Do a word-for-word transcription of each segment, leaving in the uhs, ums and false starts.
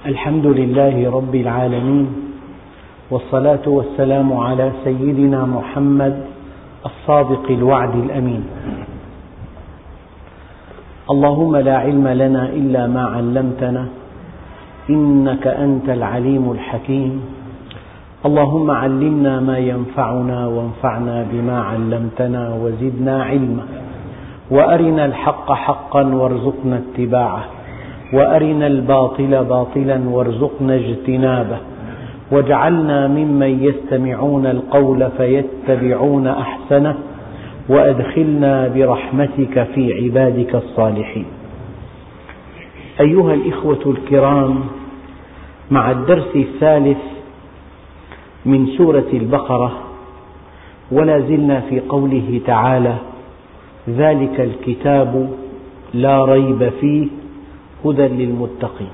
الحمد لله رب العالمين، والصلاة والسلام على سيدنا محمد الصادق الوعد الأمين. اللهم لا علم لنا إلا ما علمتنا إنك أنت العليم الحكيم. اللهم علمنا ما ينفعنا وانفعنا بما علمتنا وزدنا علما، وأرنا الحق حقا وارزقنا اتباعه، وأرنا الباطل باطلا وارزقنا اجتنابه، واجعلنا ممن يستمعون القول فيتبعون أحسنه، وأدخلنا برحمتك في عبادك الصالحين. أيها الإخوة الكرام، مع الدرس الثالث من سورة البقرة، ولا زلنا في قوله تعالى: ذلك الكتاب لا ريب فيه هدى للمتقين.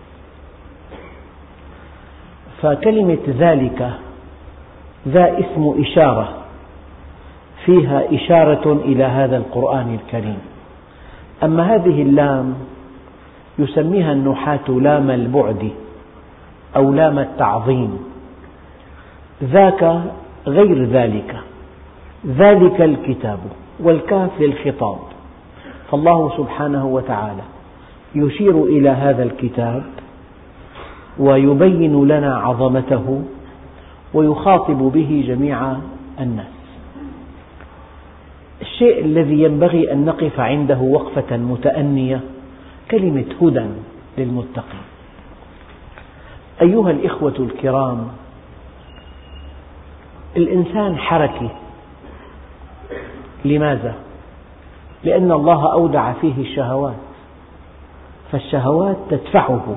فكلمة ذلك ذا اسم إشارة فيها إشارة إلى هذا القرآن الكريم. أما هذه اللام يسميها النحاة لام البعد أو لام التعظيم. ذاك غير ذلك، ذلك الكتاب، والكاف للخطاب، فالله سبحانه وتعالى يشير إلى هذا الكتاب ويبين لنا عظمته ويخاطب به جميع الناس. الشيء الذي ينبغي أن نقف عنده وقفة متأنية كلمة هدى للمتقين. أيها الإخوة الكرام، الإنسان حركي. لماذا؟ لأن الله أودع فيه الشهوات، فالشهوات تدفعه.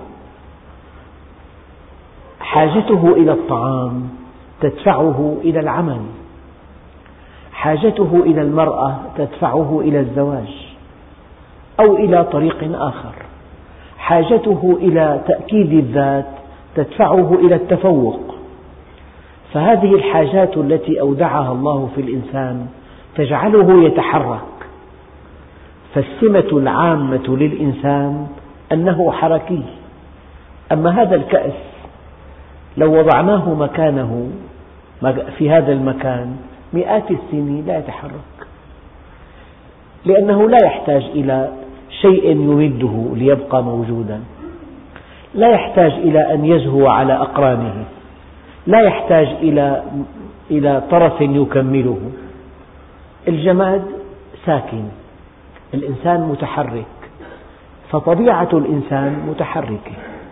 حاجته إلى الطعام تدفعه إلى العمل، حاجته إلى المرأة تدفعه إلى الزواج أو إلى طريق آخر، حاجته إلى تأكيد الذات تدفعه إلى التفوق. فهذه الحاجات التي أودعها الله في الإنسان تجعله يتحرك. فالسمة العامة للإنسان أنه حركي. أما هذا الكأس لو وضعناه مكانه في هذا المكان مئات السنين لا يتحرك، لأنه لا يحتاج إلى شيء يمده ليبقى موجودا، لا يحتاج إلى أن يزهو على أقرانه، لا يحتاج إلى إلى طرف يكمله. الجماد ساكن، الإنسان متحرك، فطبيعة الإنسان متحركة.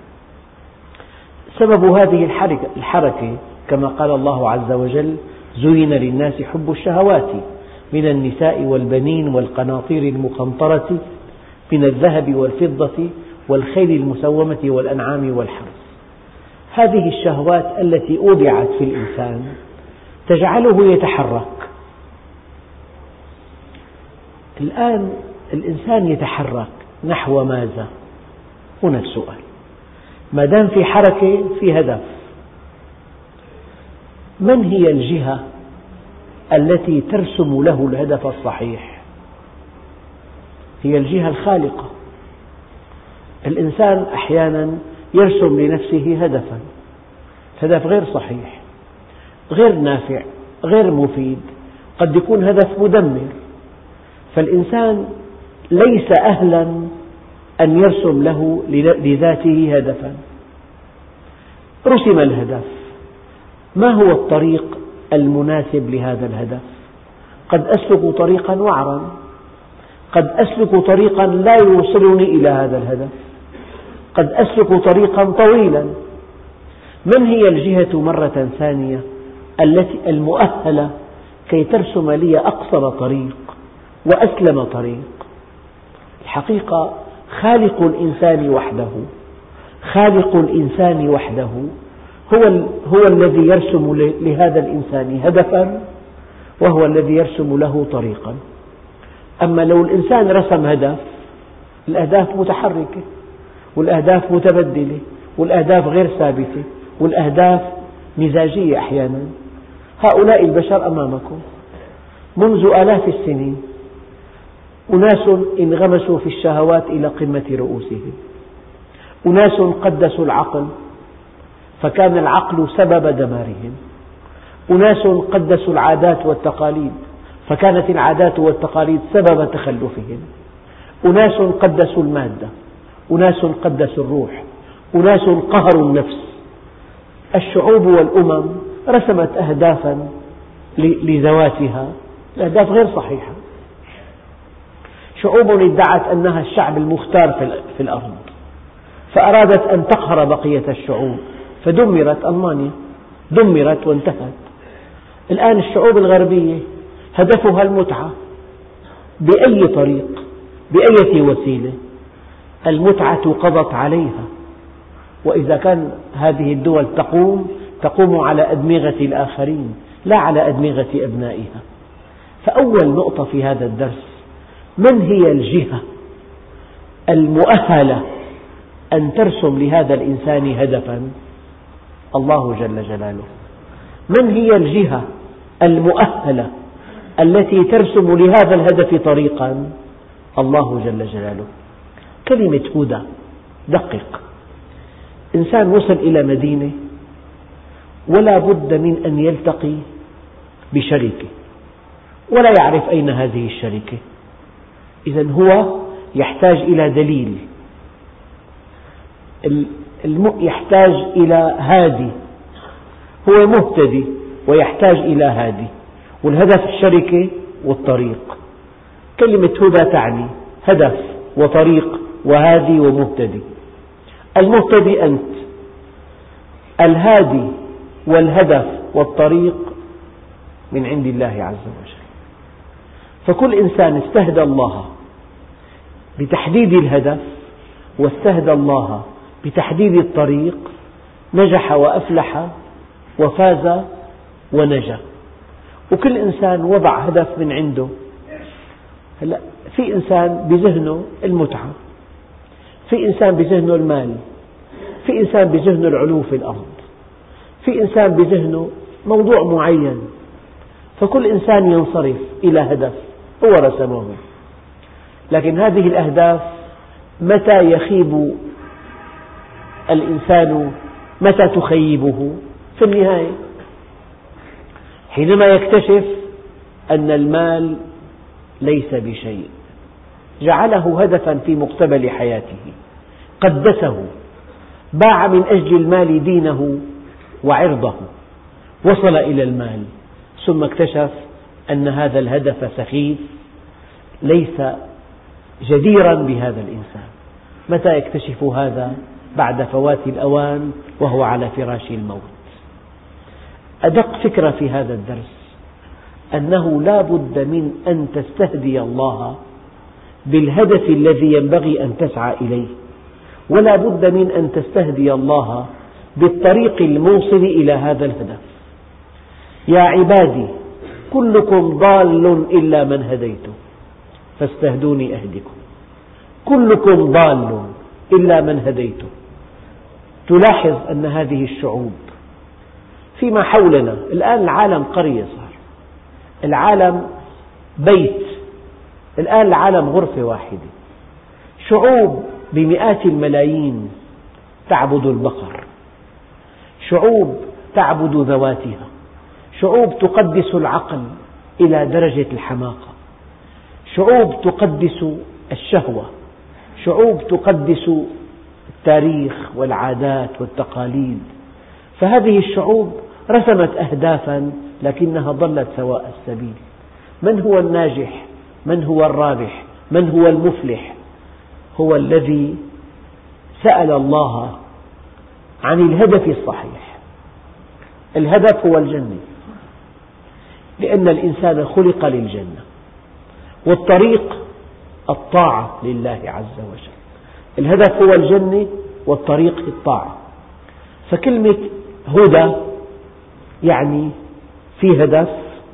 سبب هذه الحركة كما قال الله عز وجل: زين للناس حب الشهوات من النساء والبنين والقناطير المقنطرة من الذهب والفضة والخيل المسومة والأنعام والحرث. هذه الشهوات التي أودعت في الإنسان تجعله يتحرك. الآن الإنسان يتحرك نحو ماذا؟ هنا السؤال. ما دام في حركة في هدف. من هي الجهة التي ترسم له الهدف الصحيح؟ هي الجهة الخالقة. الإنسان أحيانا يرسم لنفسه هدفا، هدف غير صحيح، غير نافع، غير مفيد، قد يكون هدف مدمر. فالإنسان ليس أهلا أن يرسم له لذاته هدفا. رسم الهدف، ما هو الطريق المناسب لهذا الهدف؟ قد أسلك طريقا وعرا، قد أسلك طريقا لا يوصلني إلى هذا الهدف، قد أسلك طريقا طويلا. من هي الجهة مرة ثانية التي المؤهلة كي ترسم لي أقصر طريق وأسلم طريق؟ الحقيقة خالق الإنسان وحده، خالق الإنسان وحده هو, هو الذي يرسم لهذا الإنسان هدفا، وهو الذي يرسم له طريقا. أما لو الإنسان رسم هدف، الأهداف متحركة، والأهداف متبدلة، والأهداف غير ثابتة، والأهداف مزاجية أحيانا. هؤلاء البشر أمامكم منذ آلاف السنين، أناس انغمسوا في الشهوات إلى قمة رؤوسهم، أناس قدسوا العقل فكان العقل سبب دمارهم، أناس قدسوا العادات والتقاليد فكانت العادات والتقاليد سبب تخلفهم، أناس قدسوا المادة، أناس قدسوا الروح، أناس قهروا النفس. الشعوب والأمم رسمت أهدافا لذواتها، الأهداف غير صحيحة. شعوب ادعت أنها الشعب المختار في الأرض فأرادت أن تقهر بقية الشعوب فدمرت ألمانيا، دمرت وانتهت. الآن الشعوب الغربية هدفها المتعة بأي طريق بأية وسيلة، المتعة قضت عليها، وإذا كان هذه الدول تقوم تقوم على أدمغة الآخرين لا على أدمغة أبنائها. فأول نقطة في هذا الدرس: من هي الجهة المؤهلة أن ترسم لهذا الإنسان هدفا؟ الله جل جلاله. من هي الجهة المؤهلة التي ترسم لهذا الهدف طريقا؟ الله جل جلاله. كلمة هدى، دقق. إنسان وصل إلى مدينة ولا بد من أن يلتقي بشركة ولا يعرف أين هذه الشركة، إذن هو يحتاج إلى دليل، يحتاج إلى هادي، هو مهتدي ويحتاج إلى هادي، والهدف الشركة والطريق. كلمة هدى تعني هدف وطريق وهادي ومهتدي. المهتدي أنت، الهادي والهدف والطريق من عند الله عز وجل. فكل إنسان استهدى الله بتحديد الهدف واستهدى الله بتحديد الطريق نجح وأفلح وفاز ونجا. وكل إنسان وضع هدف من عنده. هلأ في إنسان بذهنه المتعة، في إنسان بذهنه المال، في إنسان بذهنه العلو في الأرض، في إنسان بذهنه موضوع معين، فكل إنسان ينصرف إلى هدف هو رسمه. لكن هذه الأهداف متى يخيب الإنسان، متى تخيبه؟ في النهاية، حينما يكتشف أن المال ليس بشيء، جعله هدفا في مقتبل حياته، قدسه، باع من أجل المال دينه وعرضه، وصل إلى المال، ثم اكتشف أن هذا الهدف سخيف ليس جديرا بهذا الإنسان. متى يكتشف هذا؟ بعد فوات الأوان وهو على فراش الموت. أدق فكرة في هذا الدرس أنه لا بد من أن تستهدي الله بالهدف الذي ينبغي أن تسعى إليه، ولا بد من أن تستهدي الله بالطريق الموصل إلى هذا الهدف. يا عبادي كلكم ضال إلا من هديته فاستهدوني أهدكم. كلكم ضال إلا من هديته. تلاحظ أن هذه الشعوب فيما حولنا الآن، العالم قرية صار، العالم بيت، الآن العالم غرفة واحدة. شعوب بمئات الملايين تعبد البقر، شعوب تعبد ذواتها، شعوب تقدس العقل إلى درجة الحماقة، شعوب تقدس الشهوة، شعوب تقدس التاريخ والعادات والتقاليد. فهذه الشعوب رسمت أهدافا لكنها ضلت سواء السبيل. من هو الناجح؟ من هو الرابح؟ من هو المفلح؟ هو الذي سأل الله عن الهدف الصحيح. الهدف هو الجنة، لأن الإنسان خلق للجنة، والطريق الطاعة لله عز وجل. الهدف هو الجنة والطريق الطاعة. فكلمة هدى يعني في هدف،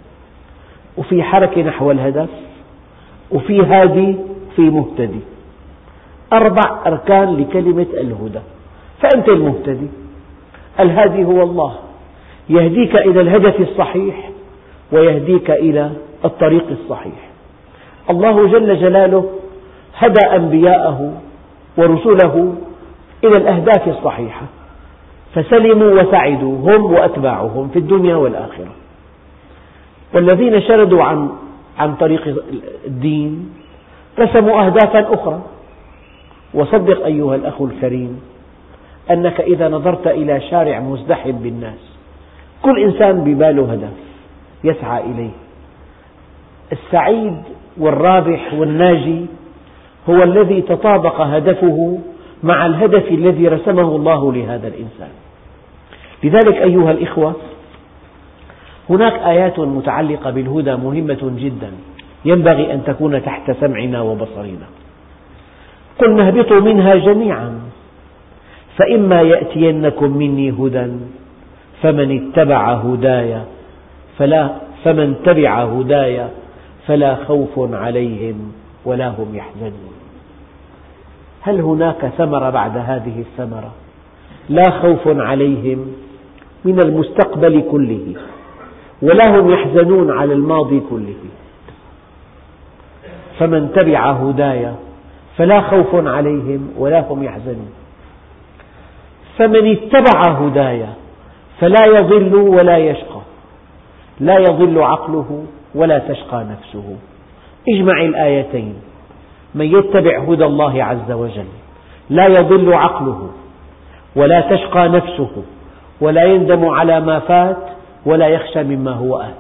وفي حركة نحو الهدف، وفي هادي، وفي مهتدي. أربع أركان لكلمة الهدى. فأنت المهتدي، الهادي هو الله، يهديك إلى الهدف الصحيح ويهديك إلى الطريق الصحيح. الله جل جلاله هدى أنبياءه ورسله إلى الأهداف الصحيحة، فسلموا وسعدوا هم وأتباعهم في الدنيا والآخرة. والذين شردوا عن عن طريق الدين رسموا أهدافا أخرى. وصدق أيها الأخ الكريم أنك إذا نظرت إلى شارع مزدحم بالناس كل إنسان بباله هدف يسعى إليه. السعيد والرابح والناجي هو الذي تطابق هدفه مع الهدف الذي رسمه الله لهذا الإنسان. لذلك أيها الإخوة، هناك آيات متعلقة بالهدى مهمة جدا ينبغي أن تكون تحت سمعنا وبصرنا. قلنا اهبطوا منها جميعا فإما يأتينكم مني هدى فمن اتبع هداي فلا فمن تبع هداي فلا خوف عليهم ولا هم يحزنون. هل هناك ثمرة بعد هذه الثمرة؟ لا خوف عليهم من المستقبل كله ولا هم يحزنون على الماضي كله. فمن تبع هداي فلا خوف عليهم ولا هم يحزنون. فمن اتبع هداي فلا يضل ولا يشقى، لا يضل عقله ولا تشقى نفسه. اجمع الآيتين، من يتبع هدى الله عز وجل لا يضل عقله ولا تشقى نفسه ولا يندم على ما فات ولا يخشى مما هو آت.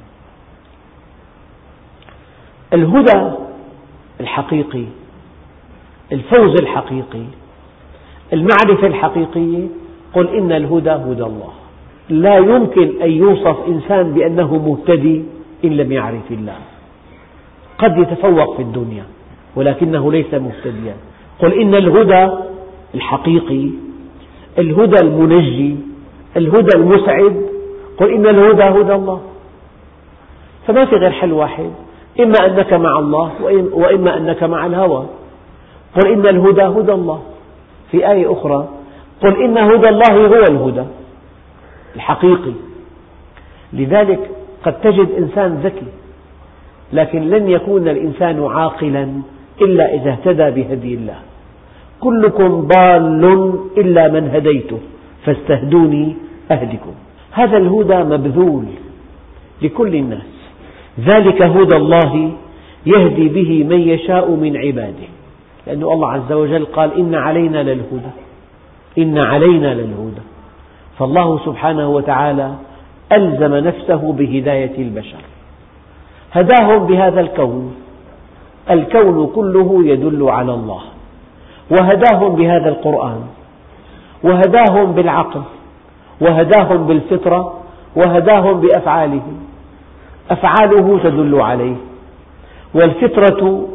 الهدى الحقيقي، الفوز الحقيقي، المعرفة الحقيقية، قل إن الهدى هدى الله. لا يمكن أن يوصف إنسان بأنه مهتدي إن لم يعرف الله. قد يتفوق في الدنيا ولكنه ليس مهتديا. قل إن الهدى الحقيقي، الهدى المنجي، الهدى المسعد، قل إن الهدى هدى الله. فما في غير حل واحد، إما أنك مع الله وإما أنك مع الهوى. قل إن الهدى هدى الله. في آية أخرى قل إن هدى الله هو الهدى الحقيقي. لذلك قد تجد إنسان ذكي لكن لن يكون الإنسان عاقلا إلا إذا اهتدى بهدي الله. كلكم ضال إلا من هديته فاستهدوني أهدكم. هذا الهدى مبذول لكل الناس. ذلك هدى الله يهدي به من يشاء من عباده. لأن الله عز وجل قال إن علينا للهدى، إن علينا للهدى. فالله سبحانه وتعالى ألزم نفسه بهداية البشر، هداهم بهذا الكون. الكون كله يدل على الله، وهداهم بهذا القرآن، وهداهم بالعقل، وهداهم بالفطرة، وهداهم بأفعاله. أفعاله تدل عليه، والفطرة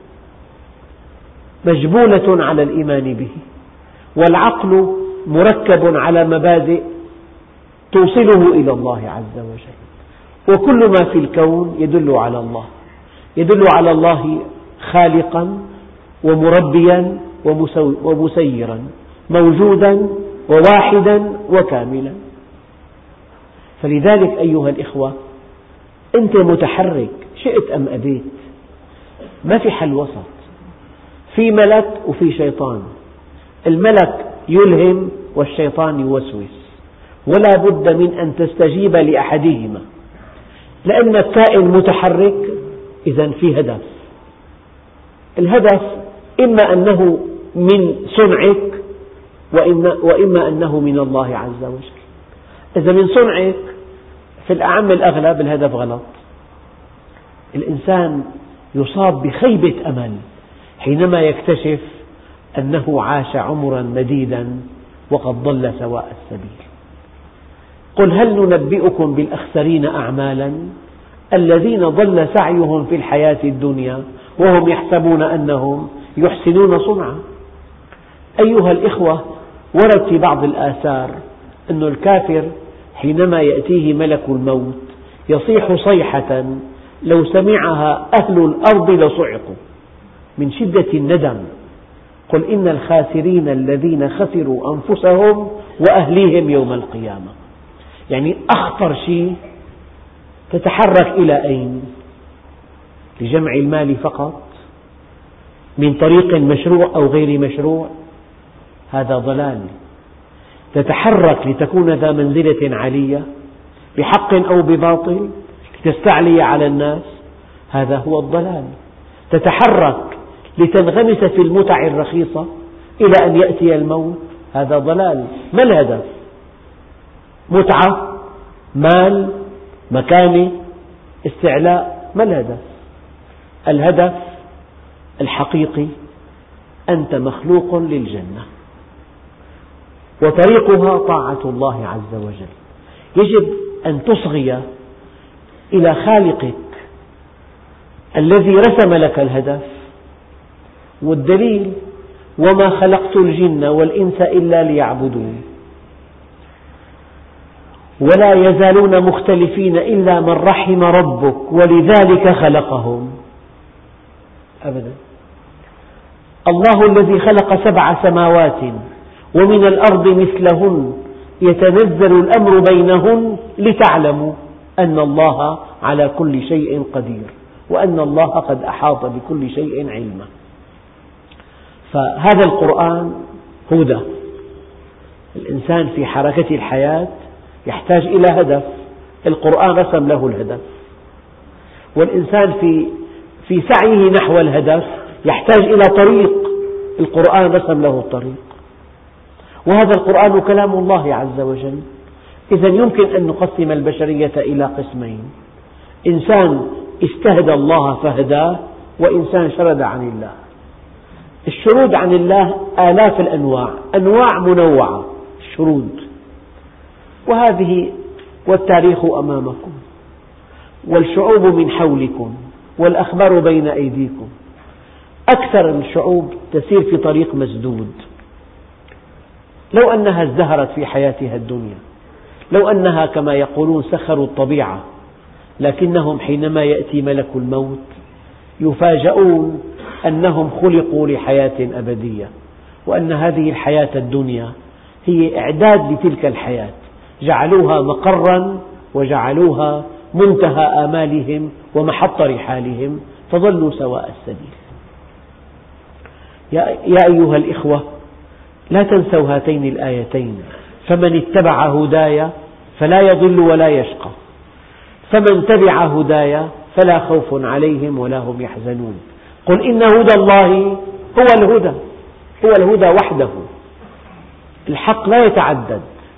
مجبولة على الإيمان به، والعقل مركب على مبادئ توصله إلى الله عز وجل. وكل ما في الكون يدل على الله، يدل على الله خالقا ومربيا ومسيرا، موجودا وواحدا وكاملا. فلذلك أيها الإخوة، أنت متحرك شئت أم أبيت، ما في حل وسط. في ملك وفي شيطان، الملك يلهم والشيطان يوسوس، ولا بد من أن تستجيب لأحدهما، لأنك كائن متحرك إذا في هدف. الهدف إما أنه من صنعك وإما أنه من الله عز وجل. إذا من صنعك في الأعم الأغلب الهدف غلط. الإنسان يصاب بخيبة أمل حينما يكتشف أنه عاش عمرا مديدا وقد ضل سواء السبيل. قل هل ننبئكم بالأخسرين أعمالا الذين ضل سعيهم في الحياة الدنيا وهم يحسبون أنهم يحسنون صنعا. أيها الإخوة، ورد في بعض الآثار أن الكافر حينما يأتيه ملك الموت يصيح صيحة لو سمعها أهل الأرض لصعقوا من شدة الندم. قل إن الخاسرين الذين خسروا أنفسهم وأهليهم يوم القيامة. يعني أخطر شيء تتحرك إلى أين؟ لجمع المال فقط من طريق مشروع أو غير مشروع؟ هذا ضلال. تتحرك لتكون ذا منزلة عالية بحق أو بباطل، لتستعلي على الناس، هذا هو الضلال. تتحرك لتنغمس في المتع الرخيصة إلى أن يأتي الموت، هذا ضلال. ما الهدف؟ متعة، مال، مكانة، استعلاء، ما الهدف؟ الهدف الحقيقي أنت مخلوق للجنة، وطريقها طاعة الله عز وجل. يجب أن تصغي إلى خالقك الذي رسم لك الهدف، والدليل: وما خلقت الجن والإنس إلا ليعبدون، ولا يزالون مختلفين إلا من رحم ربك ولذلك خلقهم. أبدا. الله الذي خلق سبع سماوات ومن الأرض مثلهن يتنزل الأمر بينهن لتعلموا أن الله على كل شيء قدير وأن الله قد أحاط بكل شيء علما. فهذا القرآن هدى. الإنسان في حركة الحياة يحتاج إلى هدف، القرآن رسم له الهدف. والإنسان في في سعيه نحو الهدف يحتاج إلى طريق، القرآن رسم له الطريق. وهذا القرآن كلام الله عز وجل. إذا يمكن أن نقسم البشرية إلى قسمين: إنسان استهدى الله فهداه، وإنسان شرد عن الله. الشرود عن الله آلاف الأنواع، أنواع منوعة الشرود، وهذه والتاريخ أمامكم، والشعوب من حولكم، والأخبار بين أيديكم. أكثر الشعوب تسير في طريق مسدود. لو أنها ازدهرت في حياتها الدنيا، لو أنها كما يقولون سخروا الطبيعة، لكنهم حينما يأتي ملك الموت يفاجؤون أنهم خلقوا لحياة أبدية، وأن هذه الحياة الدنيا هي إعداد لتلك الحياة، جعلوها مقرا وجعلوها منتهى آمالهم ومحط رحالهم، فضلوا سواء السبيل. يا أيها الإخوة، لا تنسوا هاتين الآيتين: فمن اتبع هداي فلا يضل ولا يشقى، فمن تبع هداي فلا خوف عليهم ولا هم يحزنون. قل إن هدى الله هو الهدى، هو الهدى وحده، الحق لا يتعدد.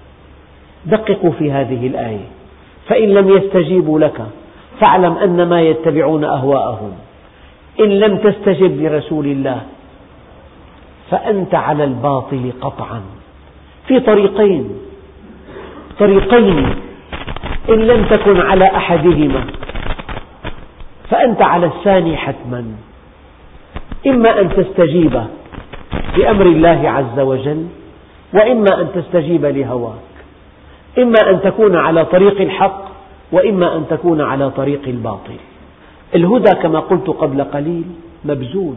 دققوا في هذه الآية: فإن لم يستجيبوا لك فاعلم أنما يتبعون أهواءهم، إن لم تستجب لرسول الله فأنت على الباطل قطعا. في طريقين طريقين إن لم تكن على أحدهما فأنت على الثاني حتما. إما أن تستجيب لأمر الله عز وجل، وإما أن تستجيب لهواك. إما أن تكون على طريق الحق، وإما أن تكون على طريق الباطل. الهدى كما قلت قبل قليل مبذول،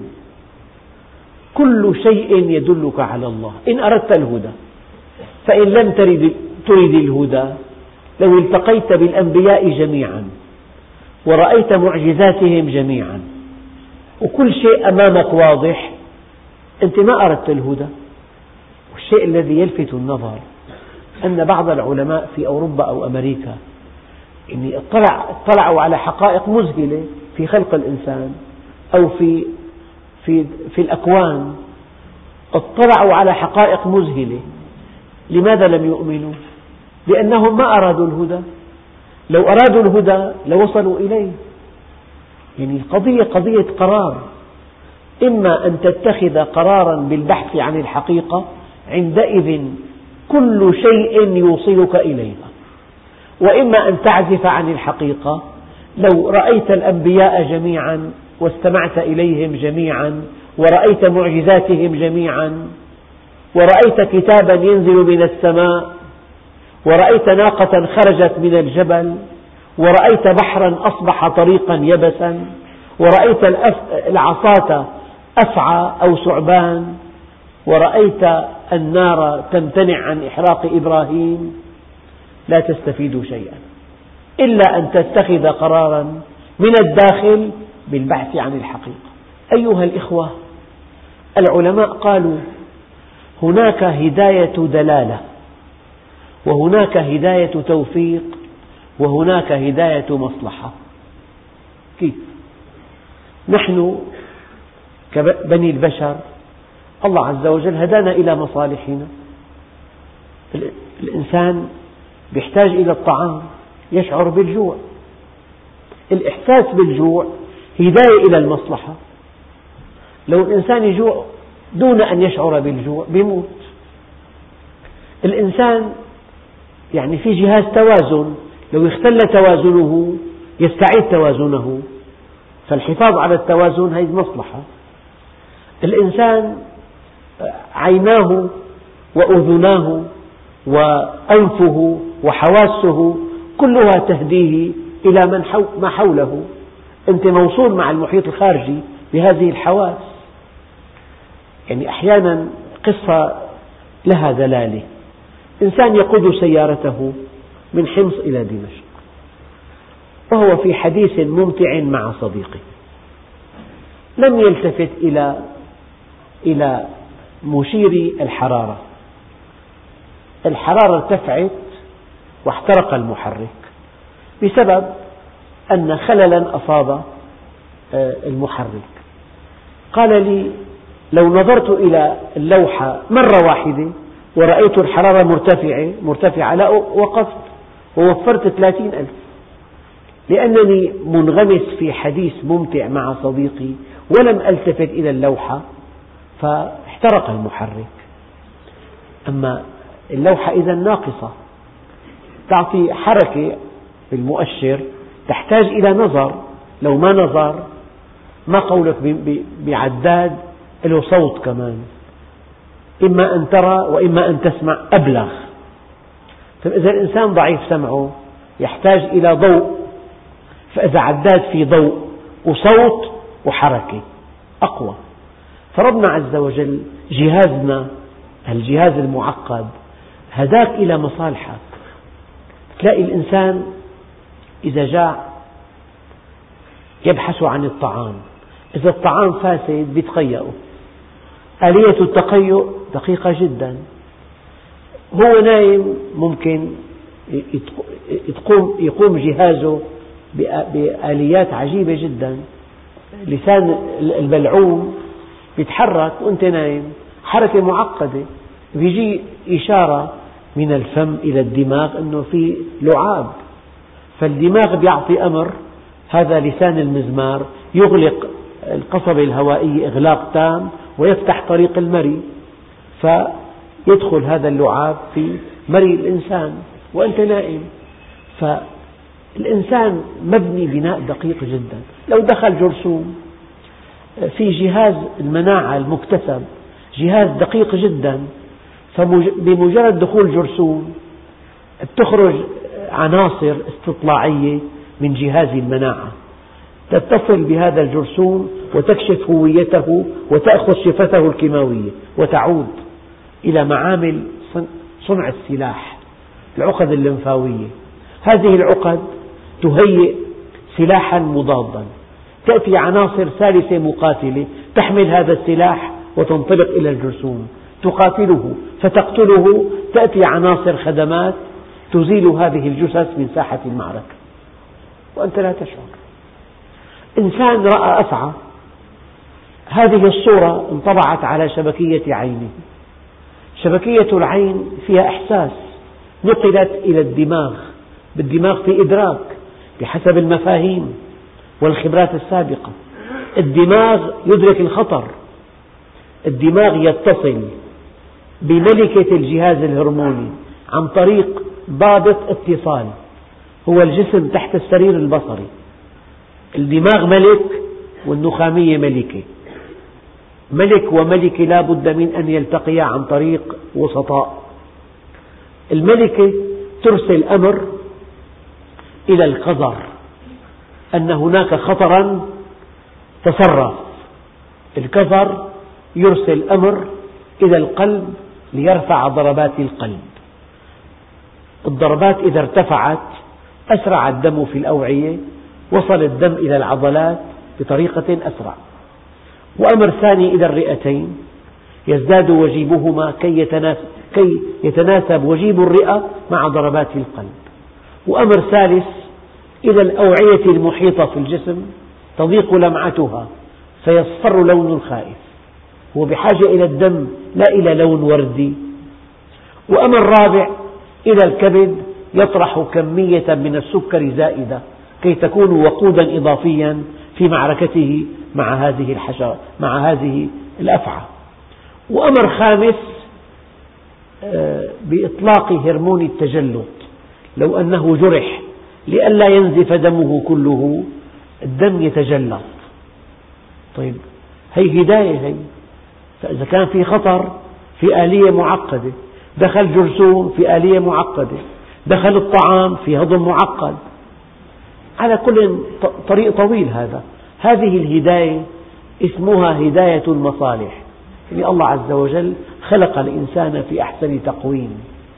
كل شيء يدلك على الله إن أردت الهدى. فإن لم ترد, ترد الهدى، لو التقيت بالأنبياء جميعا ورأيت معجزاتهم جميعا وكل شيء أمامك واضح، أنت ما أردت الهدى. والشيء الذي يلفت النظر أن بعض العلماء في أوروبا أو أمريكا يعني اطلع اطلعوا على حقائق مذهلة في خلق الإنسان أو في في في الأكوان، اطلعوا على حقائق مذهلة. لماذا لم يؤمنوا؟ لأنهم ما أرادوا الهدى. لو أرادوا الهدى لوصلوا إليه. يعني القضية قضية قرار، إما أن تتخذ قرارا بالبحث عن الحقيقة، عندئذ كل شيء يوصلك إليها، وإما أن تعزف عن الحقيقة. لو رأيت الأنبياء جميعا واستمعت إليهم جميعا ورأيت معجزاتهم جميعا، ورأيت كتابا ينزل من السماء، ورأيت ناقة خرجت من الجبل، ورأيت بحرا أصبح طريقا يبسا، ورأيت العصاة أفعى أو ثعبان، ورأيت النار تمتنع عن إحراق إبراهيم، لا تستفيد شيئا إلا أن تتخذ قرارا من الداخل بالبحث عن الحقيقة. أيها الإخوة، العلماء قالوا هناك هداية دلالة، وهناك هداية توفيق، وهناك هداية مصلحة. كيف؟ نحن كبني البشر الله عز وجل هدانا إلى مصالحنا. الإنسان يحتاج إلى الطعام، يشعر بالجوع، الإحساس بالجوع هداية إلى المصلحة. لو الإنسان يجوع دون أن يشعر بالجوع بيموت. الإنسان يعني في جهاز توازن، لو اختل توازنه يستعيد توازنه، فالحفاظ على التوازن هذه مصلحة. الإنسان عيناه وأذناه وأنفه وحواسه كلها تهديه إلى من حو ما حوله. أنت موصول مع المحيط الخارجي بهذه الحواس. يعني أحيانا قصة لها دلالة. إنسان يقود سيارته من حمص إلى دمشق، وهو في حديث ممتع مع صديقه، لم يلتفت إلى إلى مشير الحرارة. الحرارة ارتفعت واحترق المحرك بسبب أن خللا أصاب المحرك. قال لي: لو نظرت إلى اللوحة مرة واحدة ورأيت الحرارة مرتفعة مرتفعة لا وقفت ووفرت ثلاثين ألف، لأنني منغمس في حديث ممتع مع صديقي ولم ألتفت إلى اللوحة فاحترق المحرك. أما اللوحة إذا ناقصة، تعطي حركة بالمؤشر، تحتاج إلى نظر. لو ما نظر، ما قولك بعداد له صوت كمان، إما أن ترى وإما أن تسمع أبلغ. فإذا الإنسان ضعيف سمعه يحتاج إلى ضوء، فإذا عداد في ضوء وصوت وحركة أقوى. فربنا عز وجل جهازنا الجهاز المعقد هداك إلى مصالحك. تلاقي الإنسان إذا جاع يبحث عن الطعام، إذا الطعام فاسد بيتقيأه. آلية التقيؤ دقيقة جدا. هو نايم ممكن يقوم جهازه بآليات عجيبة جدا. لسان البلعوم يتحرك وأنت نايم، حركة معقدة. بيجي إشارة من الفم إلى الدماغ أنه في لعاب، فالدماغ بيعطي أمر، هذا لسان المزمار، يغلق القصبة الهوائية إغلاق تام ويفتح طريق المري، فيدخل هذا اللعاب في مري الإنسان وأنت نائم. فالإنسان مبني بناء دقيق جدا. لو دخل جرثوم، في جهاز المناعة المكتسب جهاز دقيق جدا، فبمجرد دخول جرثوم تخرج عناصر استطلاعية من جهاز المناعة تتصل بهذا الجرثوم وتكشف هويته وتأخذ صفته الكيماوية وتعود إلى معامل صنع السلاح، العقد الليمفاوية. هذه العقد تهيئ سلاحا مضادا، تأتي عناصر ثالثة مقاتلة تحمل هذا السلاح وتنطلق إلى الجرثوم تقاتله فتقتله، تأتي عناصر خدمات تزيل هذه الجثث من ساحة المعركة وأنت لا تشعر. إنسان رأى أفعى، هذه الصورة انطبعت على شبكية عينه. شبكية العين فيها إحساس، نقلت إلى الدماغ، بالدماغ في إدراك بحسب المفاهيم والخبرات السابقة. الدماغ يدرك الخطر، الدماغ يتصل بملكة الجهاز الهرموني عن طريق ضابط اتصال هو الجسم تحت السرير البصري. الدماغ ملك والنخامية ملكة، ملك وملكة لا بد من أن يلتقيا عن طريق وسطاء. الملكة ترسل أمر إلى القذر أن هناك خطرا تصرف، الكظر يرسل أمر إلى القلب ليرفع ضربات القلب. الضربات إذا ارتفعت أسرع الدم في الأوعية، وصل الدم إلى العضلات بطريقة أسرع. وأمر ثاني إلى الرئتين يزداد وجيبهما كي كي يتناسب وجيب الرئة مع ضربات القلب. وأمر ثالث إلى الأوعية المحيطة في الجسم تضيق لمعتها فيصفر لون الخائف، هو بحاجة إلى الدم لا إلى لون وردي. وأمر رابع إلى الكبد يطرح كمية من السكر زائدة كي تكون وقودا إضافيا في معركته مع هذه الحشرة مع هذه الأفعى. وأمر خامس بإطلاق هرمون التجلط، لو أنه جرح لئلا ينزف دمه كله الدم يتجلط. طيب هي هداية هي، فإذا كان في خطر في آلية معقدة، دخل جرثوم في آلية معقدة، دخل الطعام في هضم معقد، على كل طريق طويل. هذا هذه الهداية اسمها هداية المصالح، يعني الله عز وجل خلق الإنسان في أحسن تقويم.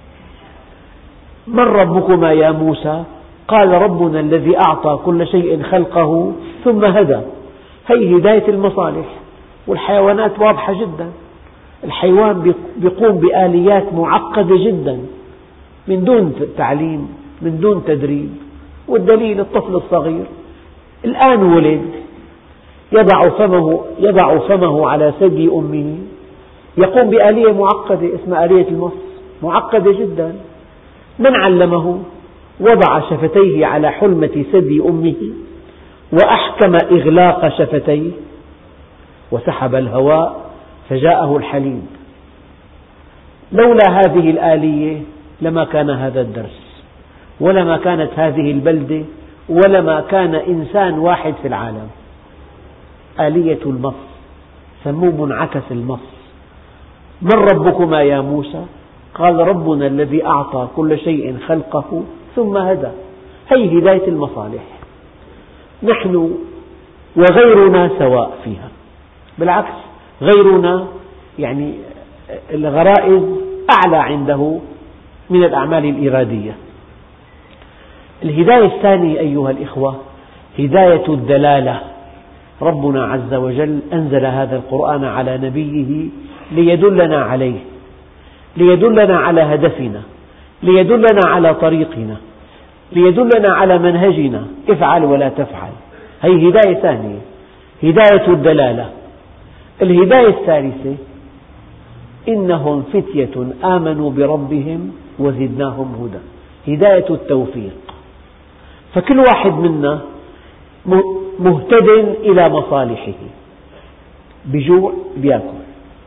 من ربكما يا موسى؟ قال ربنا الذي أعطى كل شيء خلقه ثم هدى. هي هداية المصالح. والحيوانات واضحة جدا، الحيوان يقوم بآليات معقدة جدا من دون تعليم من دون تدريب. والدليل الطفل الصغير الآن ولد يضع فمه, يضع فمه على ثدي أمه، يقوم بآلية معقدة اسمها آلية المص، معقدة جدا. من علمه؟ وضع شفتيه على حلمة ثدي أمه وأحكم إغلاق شفتيه وسحب الهواء فجاءه الحليب. لولا هذه الآلية لما كان هذا الدرس، ولما كانت هذه البلدة، ولما كان إنسان واحد في العالم. آلية المص، سموه منعكس المص. من ربكما يا موسى؟ قال ربنا الذي أعطى كل شيء خلقه ثم هدى. هي هداية المصالح. نحن وغيرنا سواء فيها، بالعكس غيرنا يعني الغرائز أعلى عنده من الأعمال الإرادية. الهداية الثانية أيها الإخوة هداية الدلالة. ربنا عز وجل أنزل هذا القرآن على نبيه ليدلنا عليه، ليدلنا على هدفنا، ليدلنا على طريقنا، ليدلنا على منهجنا، افعل ولا تفعل. هذه هداية ثانية، هداية الدلالة. الهداية الثالثة إنهم فتية آمنوا بربهم وزدناهم هدى، هداية التوفيق. فكل واحد منا مهتد إلى مصالحه، بجوع بيأكل،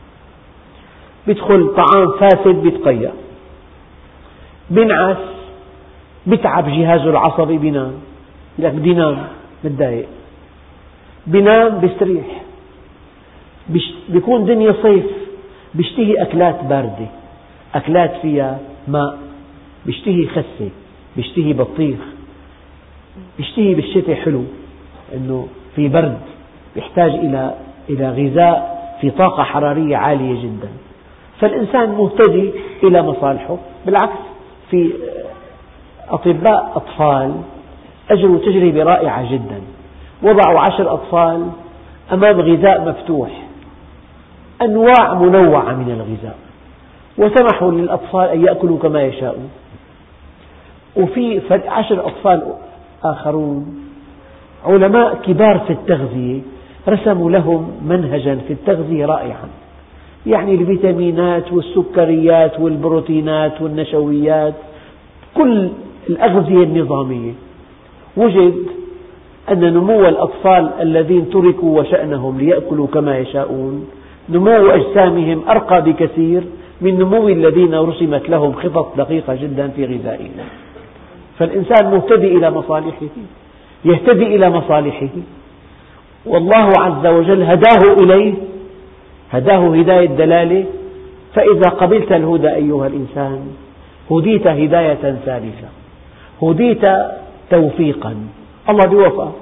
بيدخل طعام فاسد بيتقيأ، بنعس بتعب جهازه العصبي بينام، لك بدي نام متضايق، بينام بيستريح، بيكون دنيا صيف بيشتهي أكلات باردة، أكلات فيها ماء، بيشتهي خسة، بيشتهي بطيخ، بيشتهي بالشتاء حلو إنه في برد، بيحتاج إلى إلى غذاء في طاقة حرارية عالية جدا. فالإنسان مهتدي إلى مصالحه. بالعكس في أطباء أطفال أجروا تجربة رائعة جدا، وضعوا عشر أطفال أمام غذاء مفتوح، أنواع منوعة من الغذاء، وسمحوا للأطفال أن يأكلوا كما يشاءون. وفي عشر أطفال آخرون علماء كبار في التغذية رسموا لهم منهجا في التغذية رائعا، يعني الفيتامينات والسكريات والبروتينات والنشويات، كل الأغذية النظامية. وجد أن نمو الأطفال الذين تركوا وشأنهم ليأكلوا كما يشاءون نمو أجسامهم أرقى بكثير من نمو الذين رسمت لهم خطط دقيقة جدا في غذائهم. فالإنسان مهتدي إلى مصالحه، يهتدي إلى مصالحه، والله عز وجل هداه إليه، هداه هداية دلالة. فإذا قبلت الهدى أيها الإنسان هديت هداية ثالثة، هديت توفيقا، الله بيوفقك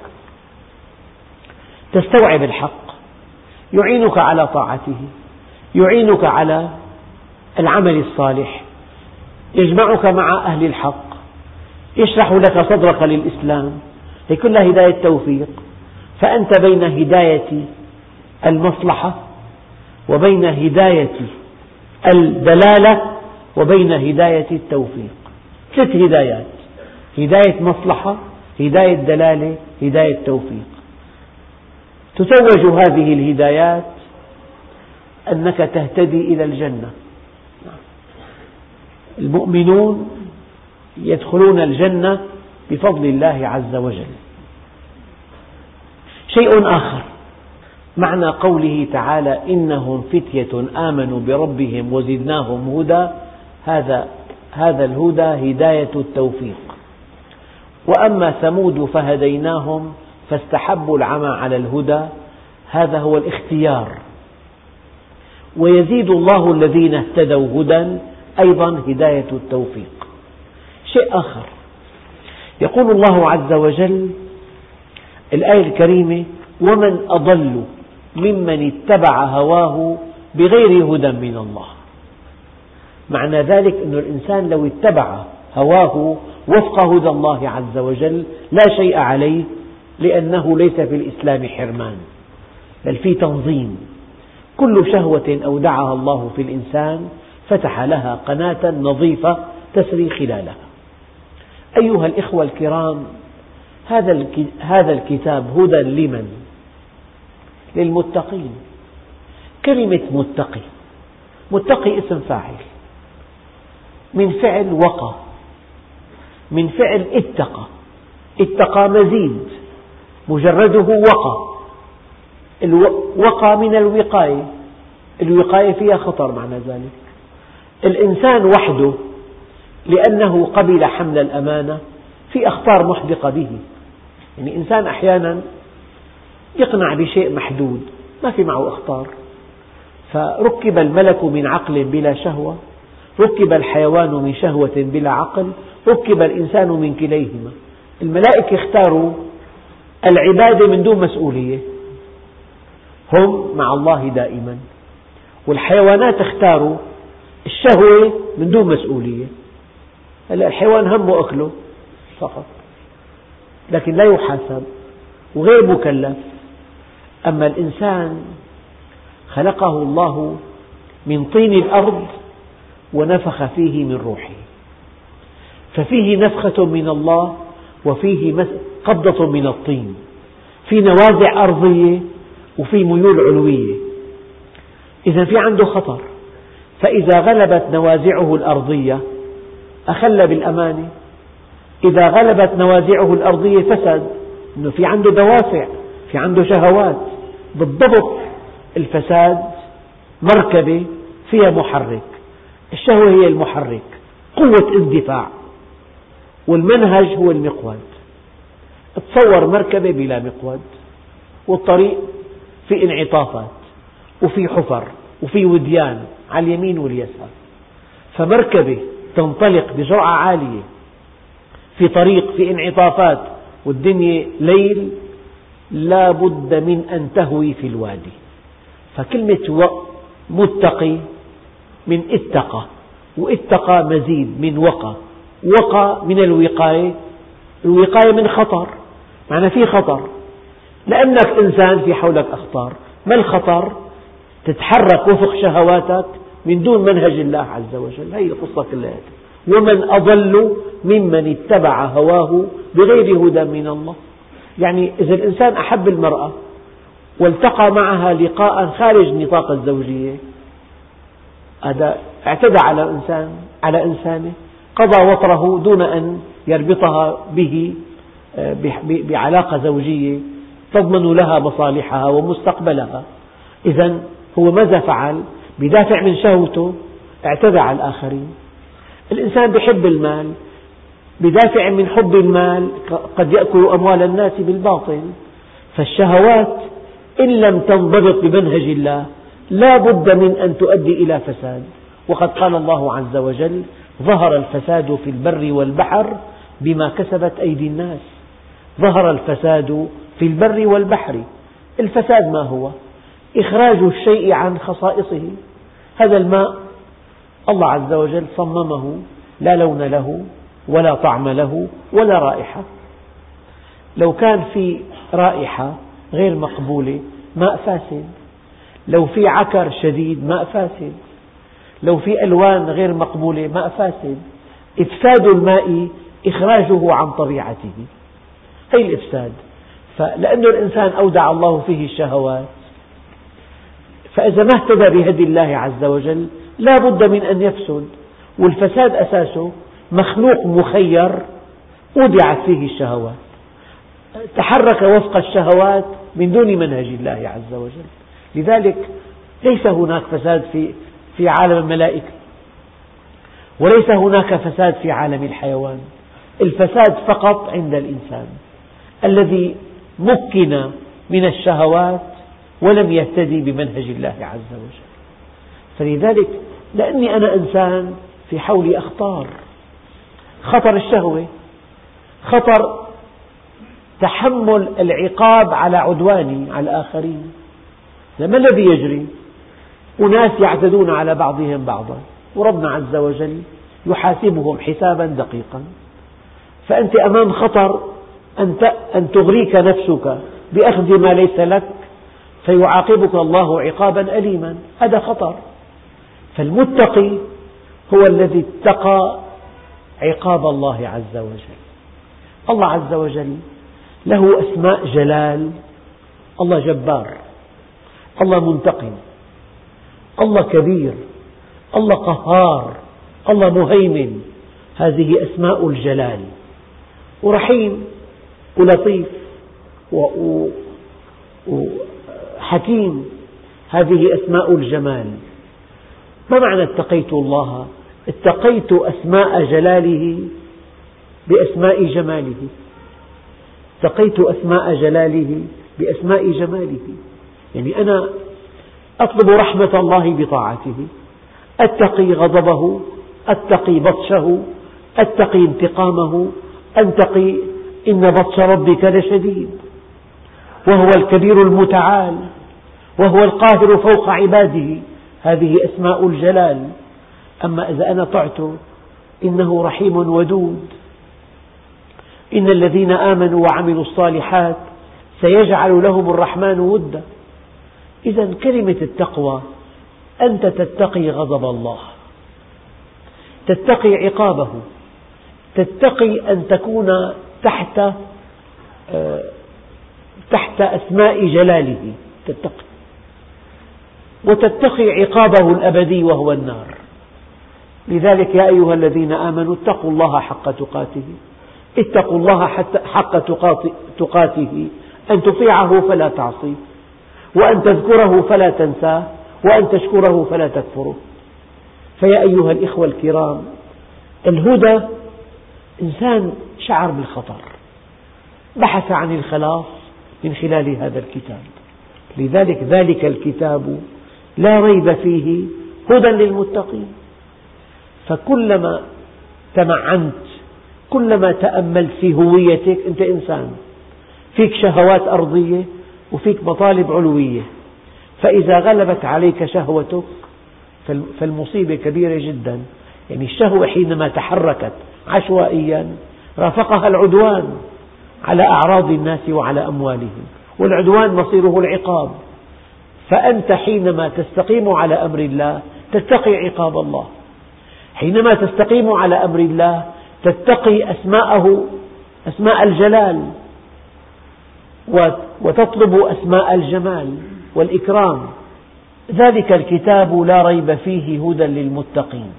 تستوعب الحق، يعينك على طاعته، يعينك على العمل الصالح، يجمعك مع أهل الحق، يشرح لك صدرك للإسلام. هي كلها هداية توفيق. فأنت بين هداية المصلحة وبين هداية الدلالة وبين هداية التوفيق. ثلاث هدايات: هداية مصلحة، هداية دلالة، هداية توفيق. تتوج هذه الهدايات أنك تهتدي إلى الجنة. المؤمنون يدخلون الجنة بفضل الله عز وجل. شيء آخر، معنى قوله تعالى: إنهم فتية آمنوا بربهم وزدناهم هدى، هذا هذا الهدى هداية التوفيق. وأما ثمود فهديناهم فاستحبوا العمى على الهدى، هذا هو الاختيار. ويزيد الله الذين اهتدوا هدى، أيضا هداية التوفيق. شيء آخر، يقول الله عز وجل الآية الكريمة: ومن أضل ممن اتبع هواه بغير هدى من الله. معنى ذلك أن الإنسان لو اتبع هواه وفق هدى الله عز وجل لا شيء عليه، لأنه ليس في الإسلام حرمان، بل في تنظيم. كل شهوة أودعها الله في الإنسان فتح لها قناة نظيفة تسري خلالها. أيها الإخوة الكرام، هذا الكتاب هدى لمن؟ للمتقين. كلمة متقي، متقي اسم فاعل من فعل وقى، من فعل اتقى. اتقى مزيد، مجرده وقى. الوقى من الوقاية، الوقاية فيها خطر. معنى ذلك الإنسان وحده لأنه قبل حمل الأمانة في أخطار محدقة به. يعني إنسان أحيانا يقنع بشيء محدود ما في معه أخطار، فركب الملك من عقل بلا شهوة، ركب الحيوان من شهوة بلا عقل، ركب الإنسان من كليهما. الملائكة اختاروا العبادة من دون مسؤولية، هم مع الله دائما. والحيوانات اختاروا الشهوة من دون مسؤولية. هلا الحيوان همه أكله فقط، لكن لا يحاسب وغير مكلف. أما الإنسان خلقه الله من طين الأرض ونفخ فيه من روحه، ففيه نفخة من الله وفيه قبضة من الطين، في نوازع أرضية وفي ميول علوية. إذا في عنده خطر، فإذا غلبت نوازعه الأرضية أخل بالأمانة، إذا غلبت نوازعه الأرضية فسد، إنه في عنده دوافع، في عنده شهوات. بالضبط الفساد مركبة فيها محرك، الشهوة هي المحرك، قوة اندفاع، والمنهج هو المقود. تصور مركبة بلا مقود، والطريق في انعطافات وفي حفر وفي وديان على اليمين واليسار، فمركبة تنطلق بسرعة عالية في طريق في انعطافات والدنيا ليل لا بد من أن تهوي في الوادي. فكلمة متقي من اتقى، واتقى مزيد من وقى، وقى من الوقاية، الوقاية من خطر. معنى في خطر لأنك إنسان في حولك أخطار. ما الخطر؟ تتحرك وفق شهواتك من دون منهج الله عز وجل. هذه القصة كلها. ومن أضل ممن اتبع هواه بغير هدى من الله. يعني إذا الإنسان أحب المرأة والتقى معها لقاء خارج نطاق الزوجية، هذا اعتدى على إنسان على إنسانه، قضى وطره دون أن يربطها به بعلاقة زوجية تضمن لها مصالحها ومستقبلها. إذا هو ماذا فعل؟ بدافع من شهوته اعتدى على الآخرين. الإنسان يحب المال، بدافع من حب المال قد يأكل أموال الناس بالباطل. فالشهوات إن لم تنضبط بمنهج الله لا بد من أن تؤدي إلى فساد. وقد قال الله عز وجل: ظهر الفساد في البر والبحر بما كسبت أيدي الناس. ظهر الفساد في البر والبحر. الفساد ما هو؟ إخراج الشيء عن خصائصه. هذا الماء الله عز وجل صممه لا لون له ولا طعم له ولا رائحة. لو كان في رائحة غير مقبولة ماء فاسد، لو في عكر شديد ماء فاسد، لو في ألوان غير مقبولة ماء فاسد. إفساد الماء إخراجه عن طبيعته، هي الإفساد. فلأن الإنسان أودع الله فيه الشهوات، فإذا ما اهتدى بهدي الله عز وجل لا بد من أن يفسد. والفساد أساسه مخلوق مخير أودعت فيه الشهوات، تحرك وفق الشهوات من دون منهج الله عز وجل. لذلك ليس هناك فساد في في عالم الملائكة، وليس هناك فساد في عالم الحيوان. الفساد فقط عند الإنسان الذي مكن من الشهوات ولم يهتدي بمنهج الله عز وجل. فلذلك لأني أنا إنسان في حولي أخطار، خطر الشهوة، خطر تحمل العقاب على عدواني على الآخرين. ما الذي يجري؟ أناس يعتدون على بعضهم بعضا، وربنا عز وجل يحاسبهم حسابا دقيقا. فأنت أمام خطر أن تغريك نفسك بأخذ ما ليس لك فيعاقبك الله عقابا أليما، هذا خطر. فالمتقي هو الذي اتقى عقاب الله عز وجل. الله عز وجل له أسماء جلال، الله جبار، الله منتقم، الله كبير، الله قهار، الله مهيمن، هذه أسماء الجلال. ورحيم ولطيف وحكيم، هذه أسماء الجمال. ما معنى اتقيت الله؟ اتقيت أسماء جلاله بأسماء جماله، اتقيت أسماء جلاله بأسماء جماله. يعني أنا أطلب رحمة الله بطاعته، أتقي غضبه، أتقي بطشه، أتقي انتقامه، أتقي إن بطش ربك لشديد، وهو الكبير المتعال، وهو القاهر فوق عباده، هذه أسماء الجلال. أما إذا أنا طعت إنه رحيم ودود، إن الذين آمنوا وعملوا الصالحات سيجعل لهم الرحمن ودا. إذا كلمة التقوى أنت تتقي غضب الله، تتقي عقابه، تتقي أن تكون تحت تحت أسماء جلاله، تتقي وتتقي عقابه الأبدي وهو النار. لذلك يا أيها الذين آمنوا اتقوا الله حق تقاته، اتقوا الله حق تقاته، أن تطيعه فلا تعصيه، وأن تذكره فلا تنساه، وأن تشكره فلا تكفره. فيا أيها الإخوة الكرام، الهدى إنسان شعر بالخطر، بحث عن الخلاص من خلال هذا الكتاب. لذلك ذلك الكتاب لا ريب فيه هدى للمتقين. فكلما تمعنت، كلما تأملت في هويتك، أنت إنسان فيك شهوات أرضية وفيك مطالب علوية، فإذا غلبت عليك شهوتك فالمصيبة كبيرة جدا. يعني الشهوة حينما تحركت عشوائيا رافقها العدوان على أعراض الناس وعلى أموالهم، والعدوان مصيره العقاب. فأنت حينما تستقيم على أمر الله تتقي عقاب الله، حينما تستقيم على أمر الله تتقي أسماءه، أسماء الجلال، وتطلب أسماء الجمال والإكرام. ذلك الكتاب لا ريب فيه هدى للمتقين.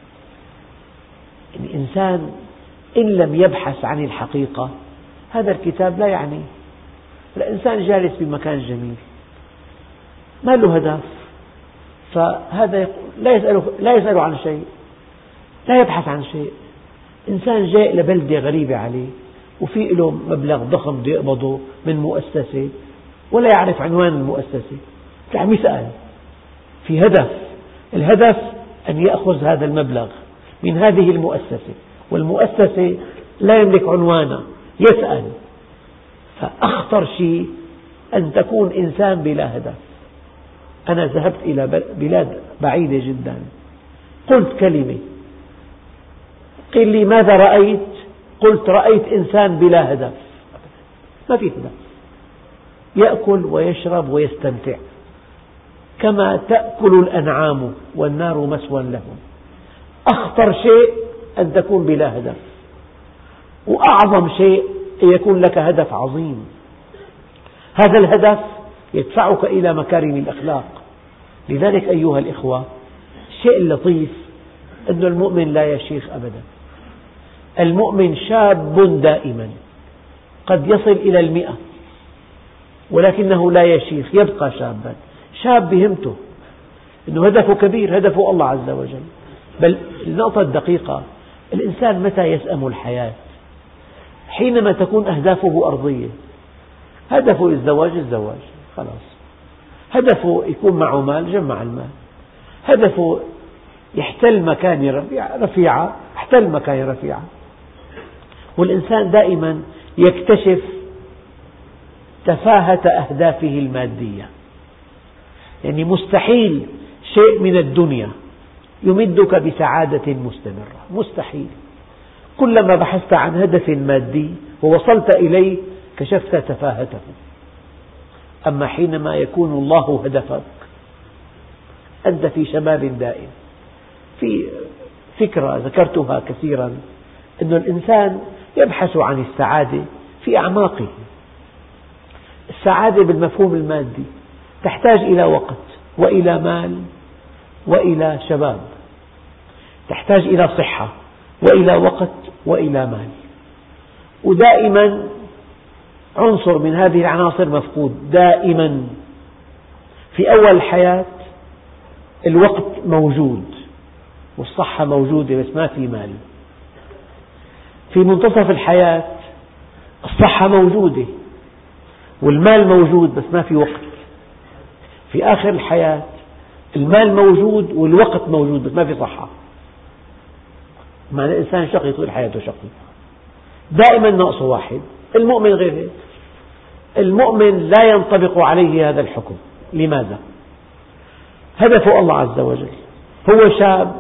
الإنسان إن لم يبحث عن الحقيقة هذا الكتاب لا يعنيه. الإنسان جالس بمكان جميل ما له هدف، فهذا لا يسأل, لا يسأل عن شيء، لا يبحث عن شيء. إنسان جاء لبلدة غريبة عليه وفي له مبلغ ضخم بده يقبضه من مؤسسة ولا يعرف عنوان المؤسسة، عم يسأل في هدف. الهدف أن يأخذ هذا المبلغ من هذه المؤسسة، والمؤسسة لا يملك عنوانا، يسأل. فأخطر شيء أن تكون إنسان بلا هدف. أنا ذهبت إلى بلاد بعيدة جدا، قلت كلمة قيل لي ماذا رأيت؟ قلت رأيت إنسان بلا هدف، ما في هدف، يأكل ويشرب ويستمتع كما تأكل الأنعام والنار مسوى لهم. أخطر شيء أن تكون بلا هدف، وأعظم شيء أن يكون لك هدف عظيم. هذا الهدف يدفعك إلى مكارم الأخلاق. لذلك أيها الإخوة، الشيء اللطيف أن المؤمن لا يشيخ أبدا. المؤمن شاب دائما، قد يصل إلى المئة ولكنه لا يشيخ، يبقى شابا. شاب بهمته أنه هدفه كبير، هدفه الله عز وجل. بل النقطة الدقيقة، الإنسان متى يسأم الحياة؟ حينما تكون أهدافه أرضية. هدفه الزواج، الزواج خلاص. هدفه يكون معه مال، جمع المال. هدفه يحتل مكان رفيعة، احتل مكان رفيعة. والإنسان دائما يكتشف تفاهة أهدافه المادية. يعني مستحيل شيء من الدنيا يمدك بسعادة مستمرة، مستحيل. كلما بحثت عن هدف مادي ووصلت إليه كشفت تفاهته. أما حينما يكون الله هدفك أنت في شباب دائم. في فكرة ذكرتها كثيرا، أن الإنسان يبحث عن السعادة في أعماقه. السعادة بالمفهوم المادي تحتاج إلى وقت وإلى مال وإلى شباب، تحتاج إلى صحة وإلى وقت وإلى مال. ودائما عنصر من هذه العناصر مفقود دائما. في أول الحياة الوقت موجود والصحة موجودة بس ما في مال. في منتصف الحياة الصحة موجودة والمال موجود بس ما في وقت. في آخر الحياة المال موجود والوقت موجود بس ما في صحة. معنى الإنسان شقي طول حياته شقي، دائما ناقصه واحد. المؤمن غير هيك. المؤمن لا ينطبق عليه هذا الحكم. لماذا؟ هدفه الله عز وجل. هو شاب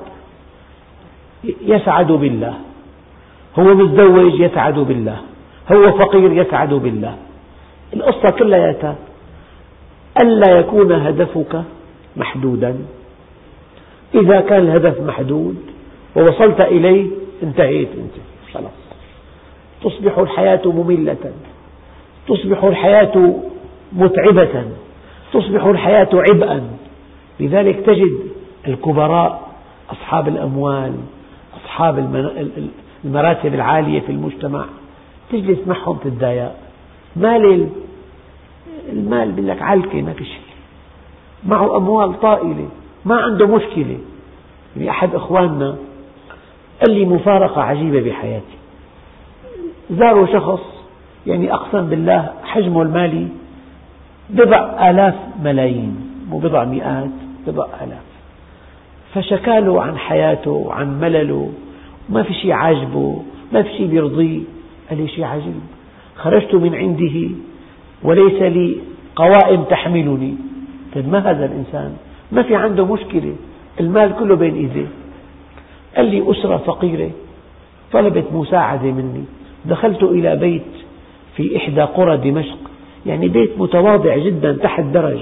يسعد بالله، هو متزوج يسعد بالله، هو فقير يسعد بالله. القصة كلها ألا يكون هدفك محدودا. إذا كان الهدف محدود ووصلت إليه انتهيت أنت خلاص. تصبح الحياة مملة، تصبح الحياة متعبة، تصبح الحياة عبئا. لذلك تجد الكبراء أصحاب الأموال، أصحاب المراتب العالية في المجتمع، تجلس معهم تتضايق. مال المال بيقول لك علكة، ما في شيء. معه أموال طائلة، ما عنده مشكلة. يعني أحد إخواننا قال لي مفارقة عجيبة بحياتي. زاروا شخص يعني أقسم بالله حجمه المالي بضع آلاف ملايين، مو بضع مئات، بضع آلاف. فشكاله عن حياته وعن ملله، ما في شيء عاجبه، ما في شيء بيرضيه. قال لي شيء عجيب، خرجت من عنده وليس لي قوائم تحملني. طيب ما هذا الإنسان؟ ما في عنده مشكلة، المال كله بين إيديه. قال لي أسرة فقيرة طلبت مساعدة مني، دخلت إلى بيت في إحدى قرى دمشق، يعني بيت متواضع جدا تحت درج،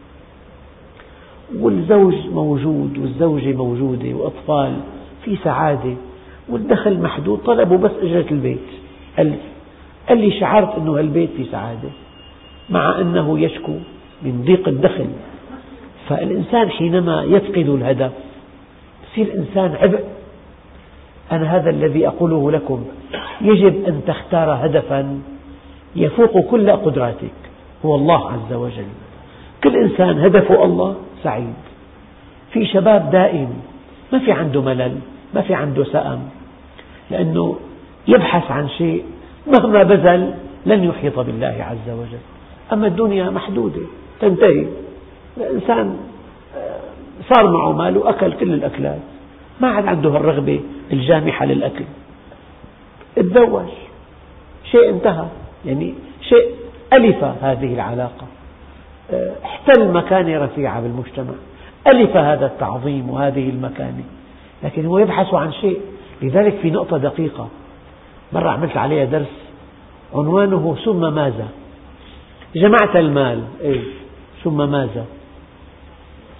والزوج موجود والزوجة موجودة وأطفال، في سعادة والدخل محدود. طلبوا بس أجرة البيت ألف. قال لي شعرت أنه هالبيت في سعادة مع أنه يشكو من ضيق الدخل. فالإنسان حينما يفقد الهدف يصير إنسان عبء. أنا هذا الذي أقوله لكم، يجب أن تختار هدفا يفوق كل قدراتك، هو الله عز وجل. كل إنسان هدفه الله سعيد. في شباب دائم ما في عنده ملل، ما في عنده سأم، لأنه يبحث عن شيء مهما بذل لن يحيط بالله عز وجل. أما الدنيا محدودة تنتهي. الإنسان صار معه مال وأكل كل الأكلات، ما عاد عنده الرغبة الجامحة للأكل. اتزوج، شيء انتهى، يعني شيء ألف هذه العلاقة، احتل مكانة رفيعة بالمجتمع، ألف هذا التعظيم وهذه المكانة، لكن هو يبحث عن شيء. لذلك في نقطة دقيقة مرة عملت عليها درس عنوانه ثم ماذا؟ جمعت المال، إيه؟ ثم ماذا؟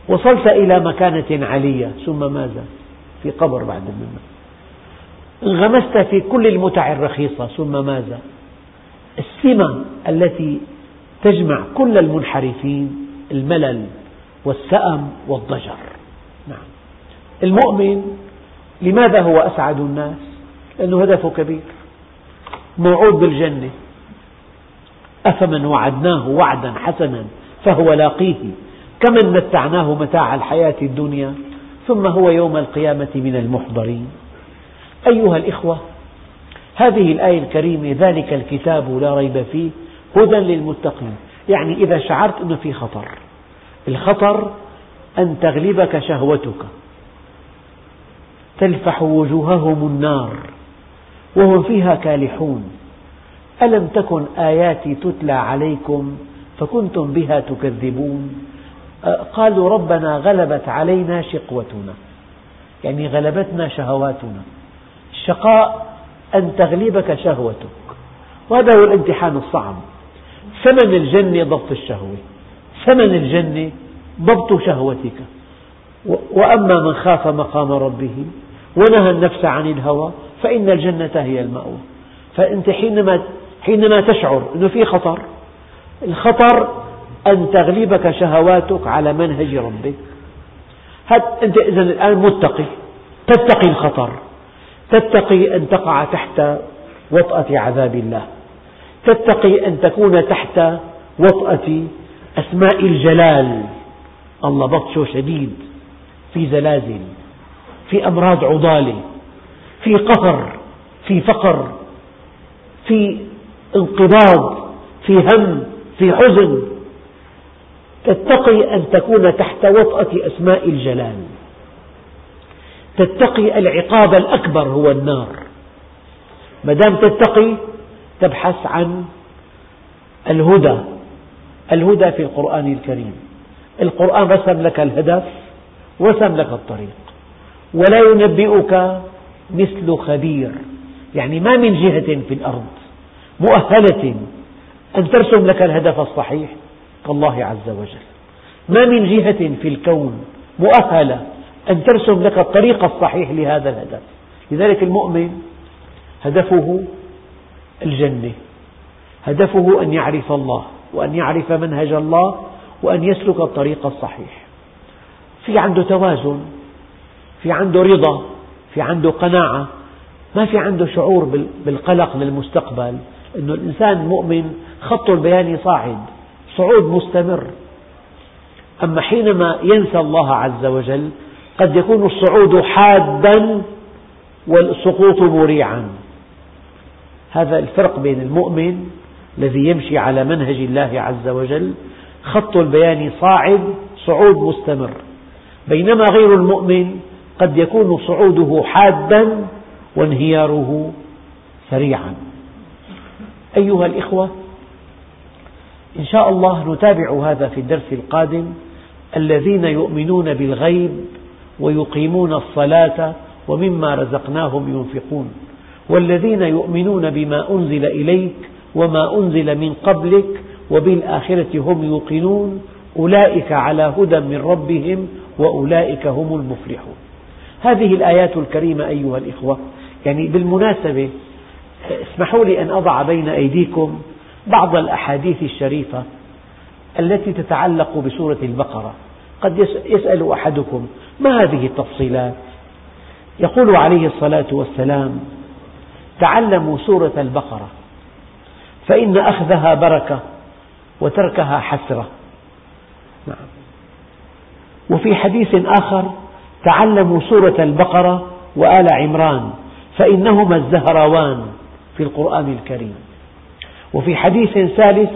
وصلت إلى مكانة عالية ثم ماذا؟ في قبر بعد منه. انغمست في كل المتع الرخيصة ثم ماذا؟ السمة التي تجمع كل المنحرفين الملل والسأم والضجر. نعم. المؤمن لماذا هو أسعد الناس؟ لأنه هدفه كبير، موعود بالجنة، أفمن وعدناه وعدا حسنا فهو لاقيه كمن متعناه متاع الحياة الدنيا ثم هو يوم القيامة من المحضرين. أيها الإخوة، هذه الآية الكريمة ذلك الكتاب لا ريب فيه هدى للمتقين، يعني إذا شعرت أنه في خطر، الخطر أن تغلبك شهوتك تلفح وجوههم النار وهم فيها كالحون ألم تكن آياتي تتلى عليكم فكنتم بها تكذبون قالوا ربنا غلبت علينا شقوتنا، يعني غلبتنا شهواتنا. الشقاء أن تغلبك شهوتك، وهذا هو الامتحان الصعب. ثمن الجنة ضبط الشهوة، ثمن الجنة ضبط شهوتك. وأما من خاف مقام ربه ونهى النفس عن الهوى فإن الجنة هي المأوى. فأنت حينما حينما تشعر أنه في خطر، الخطر أن تغلبك شهواتك على منهج ربك. أنت إذن الآن متقي، تتقي الخطر، تتقي أن تقع تحت وطأة عذاب الله، تتقي أن تكون تحت وطأة أسماء الجلال. الله بطشه شديد، في زلازل، في أمراض عضالة، في قهر، في فقر، في انقباض، في هم، في حزن. تتقي أن تكون تحت وطأة أسماء الجلال، تتقي العقاب الأكبر هو النار. ما دام تتقي تبحث عن الهدى، الهدى في القرآن الكريم. القرآن رسم لك الهدف ورسم لك الطريق. ولا ينبئك مثل خبير، يعني ما من جهة في الأرض مؤهلة أن ترسم لك الهدف الصحيح كالله عز وجل. ما من جهة في الكون مؤهلة أن ترسم لك الطريق الصحيح لهذا الهدف. لذلك المؤمن هدفه الجنة، هدفه أن يعرف الله وأن يعرف منهج الله وأن يسلك الطريق الصحيح. في عنده توازن، في عنده رضا، في عنده قناعة، ما في عنده شعور بالقلق للمستقبل. إنه الإنسان المؤمن خط البياني صاعد، صعود مستمر. أما حينما ينسى الله عز وجل قد يكون الصعود حادا والسقوط مريعا. هذا الفرق بين المؤمن الذي يمشي على منهج الله عز وجل، خط البيان صاعد، صعود مستمر، بينما غير المؤمن قد يكون صعوده حادا وانهياره سريعا. أيها الإخوة، إن شاء الله نتابع هذا في الدرس القادم. الذين يؤمنون بالغيب ويقيمون الصلاة ومما رزقناهم ينفقون، والذين يؤمنون بما أنزل إليك وما أنزل من قبلك وبالآخرة هم يوقنون أولئك على هدى من ربهم وأولئك هم المفلحون. هذه الآيات الكريمة أيها الإخوة، يعني بالمناسبة اسمحوا لي أن أضع بين أيديكم بعض الأحاديث الشريفة التي تتعلق بسورة البقرة. قد يسأل أحدكم ما هذه التفصيلات؟ يقول عليه الصلاة والسلام: تعلموا سورة البقرة فإن أخذها بركة وتركها حسرة. نعم. وفي حديث آخر: تعلموا سورة البقرة وآل عمران فإنهما الزهراوان في القرآن الكريم. وفي حديث ثالث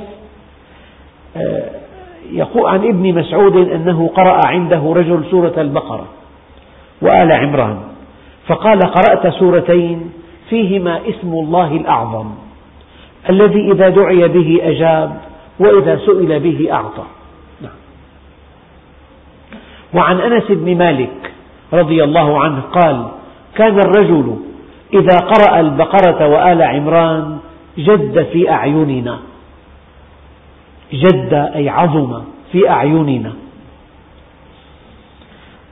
يقول عن ابن مسعود أنه قرأ عنده رجل سورة البقرة وآل عمران فقال: قرأت سورتين فيهما اسم الله الأعظم الذي إذا دعي به أجاب وإذا سئل به أعطى. وعن أنس بن مالك رضي الله عنه قال: كان الرجل إذا قرأ البقرة وآل عمران جد في أعيننا، جد أي عظم في أعيننا.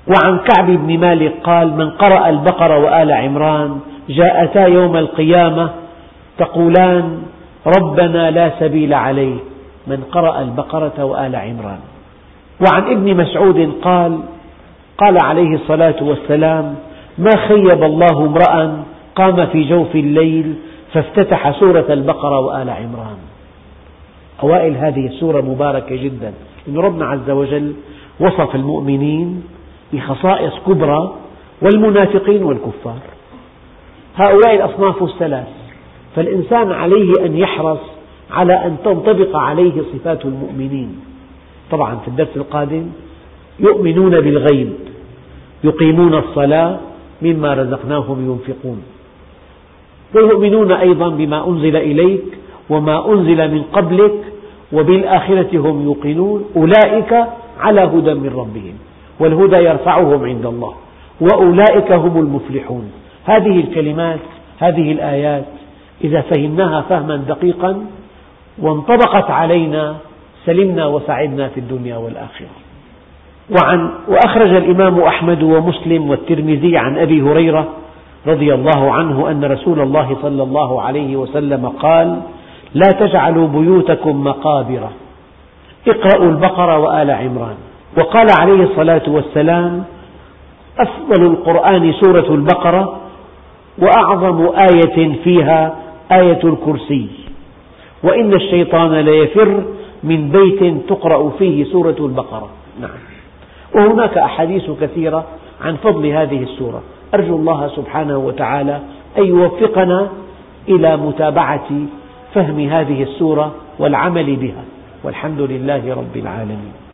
وعن كعب بن مالك قال: من قرأ البقرة وآل عمران جاءتا يوم القيامة تقولان ربنا لا سبيل عليه. من قرأ البقرة وآل عمران. وعن ابن مسعود قال: قال عليه الصلاة والسلام: ما خيب الله امرأ قام في جوف الليل فافتتح سورة البقرة وآل عمران. أوائل هذه السورة مباركة جدا، لأن ربنا عز وجل وصف المؤمنين بخصائص كبرى والمنافقين والكفار، هؤلاء الأصناف الثلاث، فالإنسان عليه أن يحرص على أن تنطبق عليه صفات المؤمنين. طبعا في الدرس القادم يؤمنون بالغيب، يقيمون الصلاة، مما رزقناهم ينفقون، ويؤمنون أيضا بما أنزل إليك وما أنزل من قبلك وبالآخرة هم يوقنون، أولئك على هدى من ربهم، والهدى يرفعهم عند الله، وأولئك هم المفلحون. هذه الكلمات، هذه الآيات إذا فهمناها فهما دقيقا وانطبقت علينا سلمنا وسعدنا في الدنيا والآخرة. وعن وأخرج الإمام أحمد ومسلم والترمذي عن أبي هريرة رضي الله عنه أن رسول الله صلى الله عليه وسلم قال: لا تجعلوا بيوتكم مقابر، اقرأوا البقرة وآل عمران. وقال عليه الصلاة والسلام: أفضل القرآن سورة البقرة، وأعظم آية فيها آية الكرسي، وإن الشيطان ليفر من بيت تقرأ فيه سورة البقرة. نعم. وهناك أحاديث كثيرة عن فضل هذه السورة. أرجو الله سبحانه وتعالى أن يوفقنا إلى متابعة فهم هذه السورة والعمل بها، والحمد لله رب العالمين.